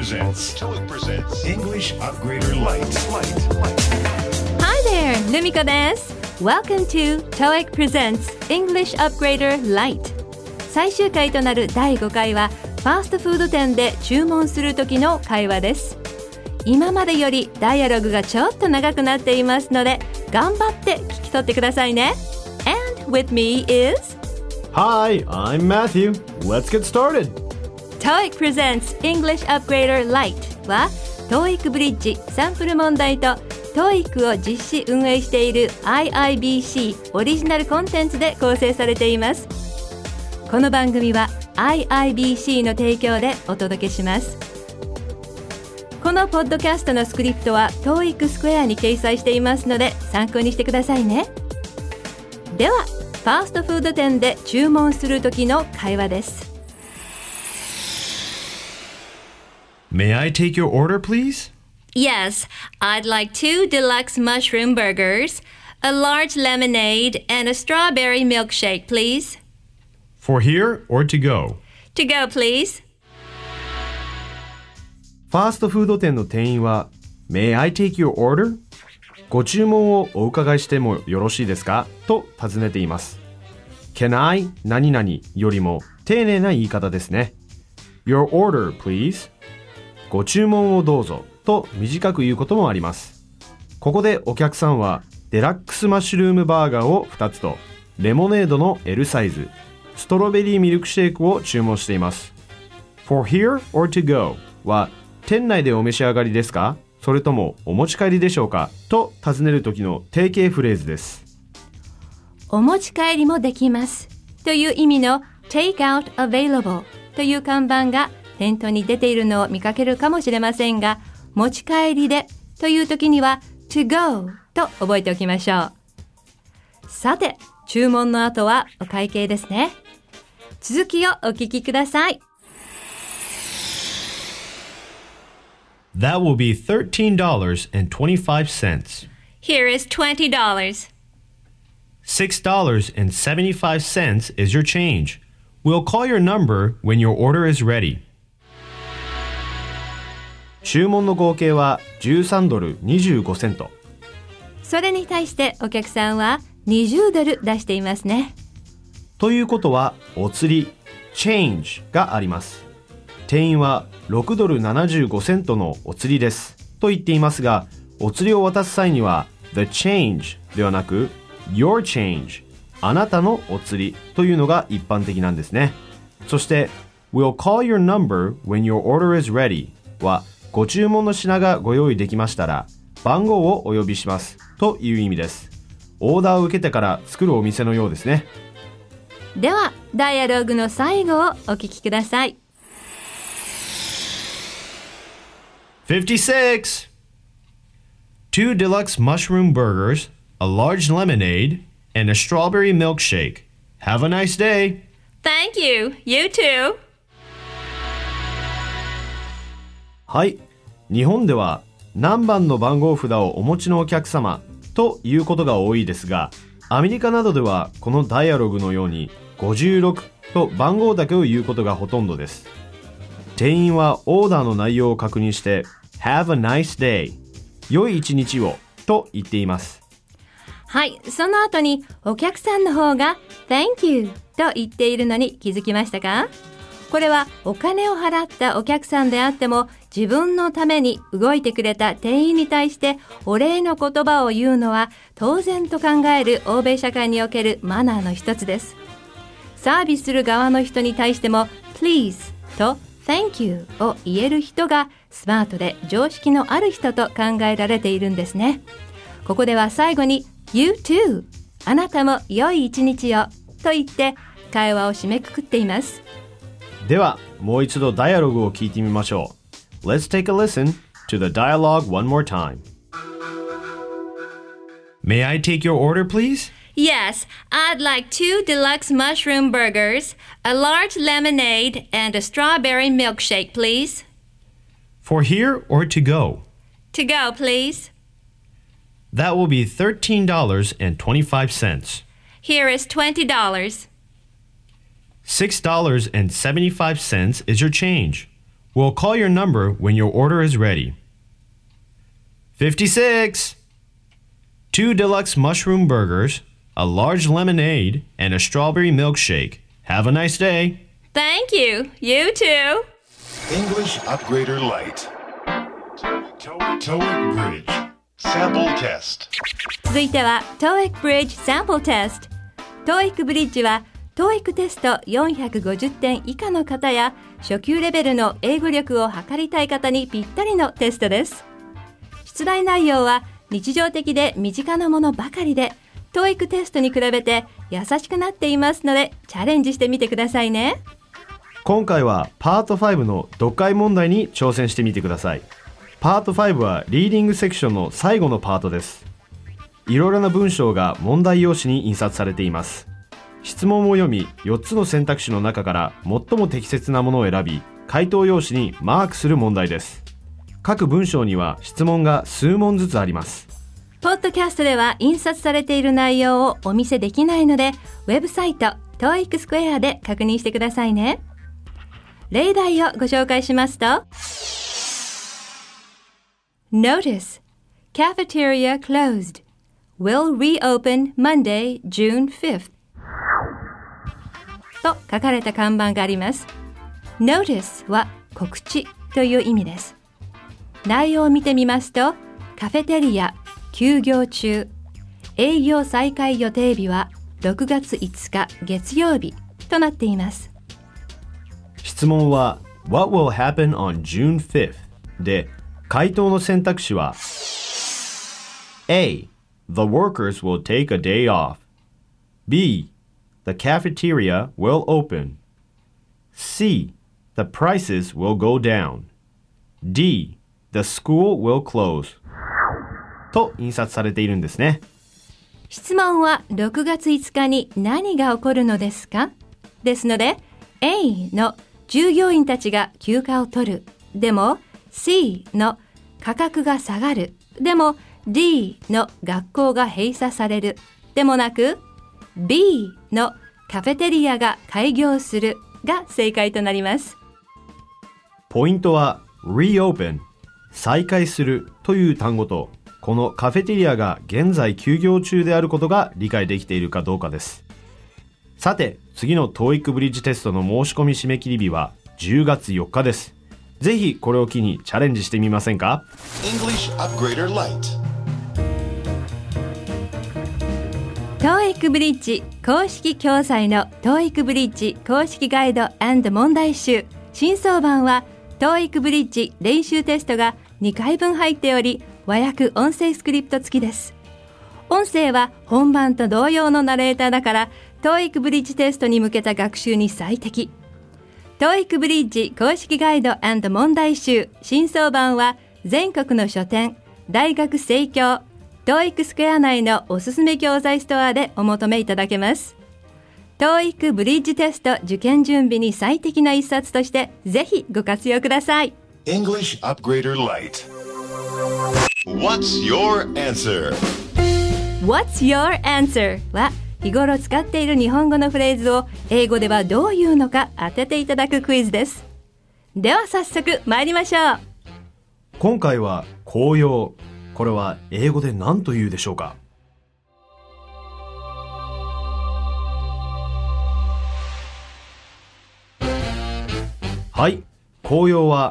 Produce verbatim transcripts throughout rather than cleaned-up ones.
presents TOEIC presents English Upgrader Lite. Hi there, Lumiko です。Welcome to TOEIC presents English Upgrader Lite。最終回となるだいごかいはファーストフード店で注文する時の会話です。今までよりダイアログがちょっと長くなっていますので頑張って聞き取ってくださいね。And with me is Hi, I'm Matthew. Let's get started. TOEIC presents English Upgrader Lite は TOEIC ブリッジサンプル問題と TOEIC を実施運営している アイアイビーシー オリジナルコンテンツで構成されています。この番組は アイアイビーシー の提供でお届けします。このポッドキャストのスクリプトは TOEIC スクエアに掲載していますので参考にしてくださいね。ではファーストフード店で注文する時の会話です。 May I take your order, please? Yes, I'd like two deluxe mushroom burgers, a large lemonade, and a strawberry milkshake, please. For here or to go? To go, please. ファーストフード店の店員は May I take your order? ご注文をお伺いしてもよろしいですかと尋ねています。Can I 何々よりも丁寧な言い方ですね。Your order, please. ご注文をどうぞと短く言うこともあります。ここでお客さんはデラックスマッシュルームバーガーをふたつとレモネードの L サイズ、ストロベリーミルクシェイクを注文しています。For here or to go は店内でお召し上がりですかそれともお持ち帰りでしょうかと尋ねる時の定型フレーズです。 お持ち帰りもできますという意味の Take out available という看板が店頭に出ているのを見かけるかもしれませんが、持ち帰りでという時には to go と覚えておきましょう。さて、注文の後はお会計ですね。続きをお聞きください。 That will be thirteen dollars and twenty-five cents. Here is twenty dollars. six dollars and seventy-five cents is your change. We'll call your number when your order is ready. 注文の合計はじゅうさんドルにじゅうごセント。 それに対してお客さんはにじゅうドル出していますね。 ということはお釣り change があります。店員はろくドルななじゅうごセントのお釣りですと言っていますが、お釣りを渡す際には the change ではなく your change あなたのお釣りというのが一般的なんですね。そして We'll call your number when your order is ready はご注文の品がご用意できましたら番号をお呼びしますという意味です。オーダーを受けてから作るお店のようですね。 ではダイアログの最後をお聞きください。 fifty-six. Two deluxe mushroom burgers, a large lemonade, and a strawberry milkshake. Have a nice day. Thank you. You too. はい。日本では何番の番号札をお持ちのお客様ということが多いですが、アメリカなどではこのダイアログのようにごじゅうろくと番号だけを言うことがほとんどです。店員はオーダーの内容を確認して Have a nice day 良い一日をと言っています。 はい、その後にお客さんの方が Thank you と言っているのに気づきましたか？これはお金を払ったお客さんであっても自分のために動いてくれた店員に対してお礼の言葉を言うのは当然と考える欧米社会におけるマナーの一つです。サービスする側の人に対しても Please とThank you を言える人がスマートで常識のある人と考えられているんですね。ここでは最後に You too あなたも良い一日をと言って会話を締めくくっています。 ではもう一度ダイアログを聞いてみましょう。 Let's take a listen to the dialogue one more time. May I take your order, please? Yes, I'd like two deluxe mushroom burgers, a large lemonade, and a strawberry milkshake, please. For here or to go? To go, please. That will be thirteen dollars and twenty-five cents. Here is twenty dollars. six dollars and seventy-five cents is your change. We'll call your number when your order is ready. fifty-six. Two deluxe mushroom burgers, a large lemonade, and a strawberry milkshake. Have a nice day. Thank you. You too. English Upgrader Lite. TOEIC Bridge Sample Test. 続いては トーイック Bridge Sample Test。 トーイック Bridge は トーイック テストよんひゃくごじゅってん以下の方や初級レベルの英語力を測りたい方にぴったりのテストです。出題内容は日常的で身近なものばかりで トーイック テストに比べて優しくなっていますのでチャレンジしてみてくださいね。 今回はパートファイブの読解問題に挑戦してみてください。パートファイブはリーディングセクションの最後のパートです。いろいろな文章が問題用紙に印刷されています。質問を読み、よっつの選択肢の中から最も適切なものを選び、回答用紙にマークする問題です。各文章には質問が数問ずつあります。 ポッドキャストでは印刷されている内容をお見せできないので、ウェブサイト トーイック スクエアで確認してくださいね。例題をご紹介しますと Notice Cafeteria closed Will reopen Monday, June fifth と書かれた看板があります。 Notice は告知という意味です。内容を見てみますとカフェテリア休業中、営業再開予定日はろくがついつか月曜日となっています。 質問は What will happen on June fifth? で、回答の選択肢は A. The workers will take a day off. B. The cafeteria will open. C. The prices will go down. D. The school will close. と印刷されているんですね。 質問はろくがついつかに何が起こるのですか？ですので A の従業員たちが休暇を取るでも C の価格が下がるでも D の学校が閉鎖されるでもなく B のカフェテリアが開業するが正解となります。 ポイントは reopen 再開するという単語とこのカフェテリアが現在休業中であることが理解できているかどうかです。さて次の トーイック ブリッジテストの申し込み締め切り日はじゅうがつよっかです。ぜひこれを機にチャレンジしてみませんか？ English Upgrader Lite。 トーイック ブリッジ公式教材の トーイック ブリッジ公式ガイド&問題集新装版は トーイック ブリッジ練習テストがにかいぶん入っており和訳音声スクリプト付きです。音声は本番と同様のナレーターだから トーイック ブリッジテストに向けた学習に最適。トーイック ブリッジ公式ガイド&問題集新装版は全国の書店、大学生協、トーイック スクエア内のおすすめ教材ストアでお求めいただけます。トーイック ブリッジテスト受験準備に最適な一冊としてぜひご活用ください。 English Upgrader Lite。 What's your answer? What's your answer? は日頃使っている日本語のフレーズを英語ではどう言うのか当てていただくクイズです。では早速参りましょう。 今回は紅葉。これは英語で何と言うでしょうか？はい、紅葉は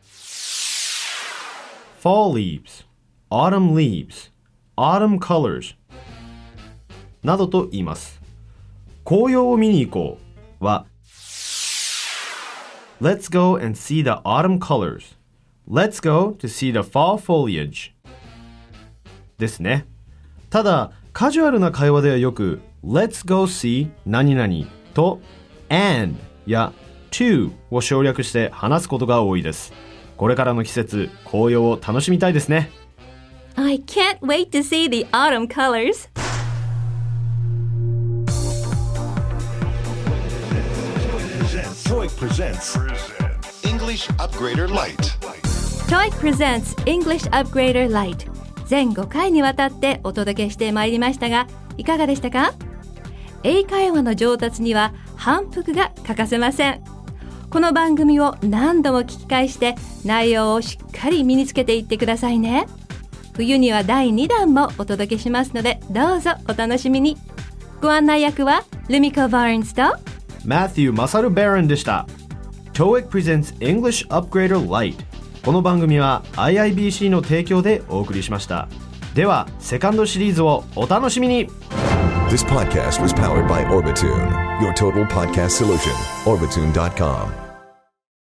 Fall leaves, Autumn leaves, Autumn colors などと言います。紅葉を見に行こうは Let's go and see the autumn colors. Let's go to see the fall foliage. ですね。ただ、カジュアルな会話ではよく Let's go see 何々と and や to を省略して話すことが多いです。これからの季節、紅葉を楽しみたいですね。 I can't wait to see the autumn colors. TOEIC presents English Upgrader Lite。 トーイック presents English Upgrader Lite。 全ごかいにわたってお届けしてまいりましたが、いかがでしたか？英会話の上達には反復が欠かせません。 この番組を何度も聞き返して内容をしっかり身につけていってくださいね。冬にはだいにだんもお届けしますので、どうぞお楽しみに。ご案内役はルミコ・バーンズとマティュー・マサル・バロンでした。 トーイック presents English Upgrader Lite。 この番組は アイアイビーシー の提供でお送りしました。ではセカンドシリーズをお楽しみに。 This podcast was powered by Orbitune, your total podcast solution. Orbitune dot com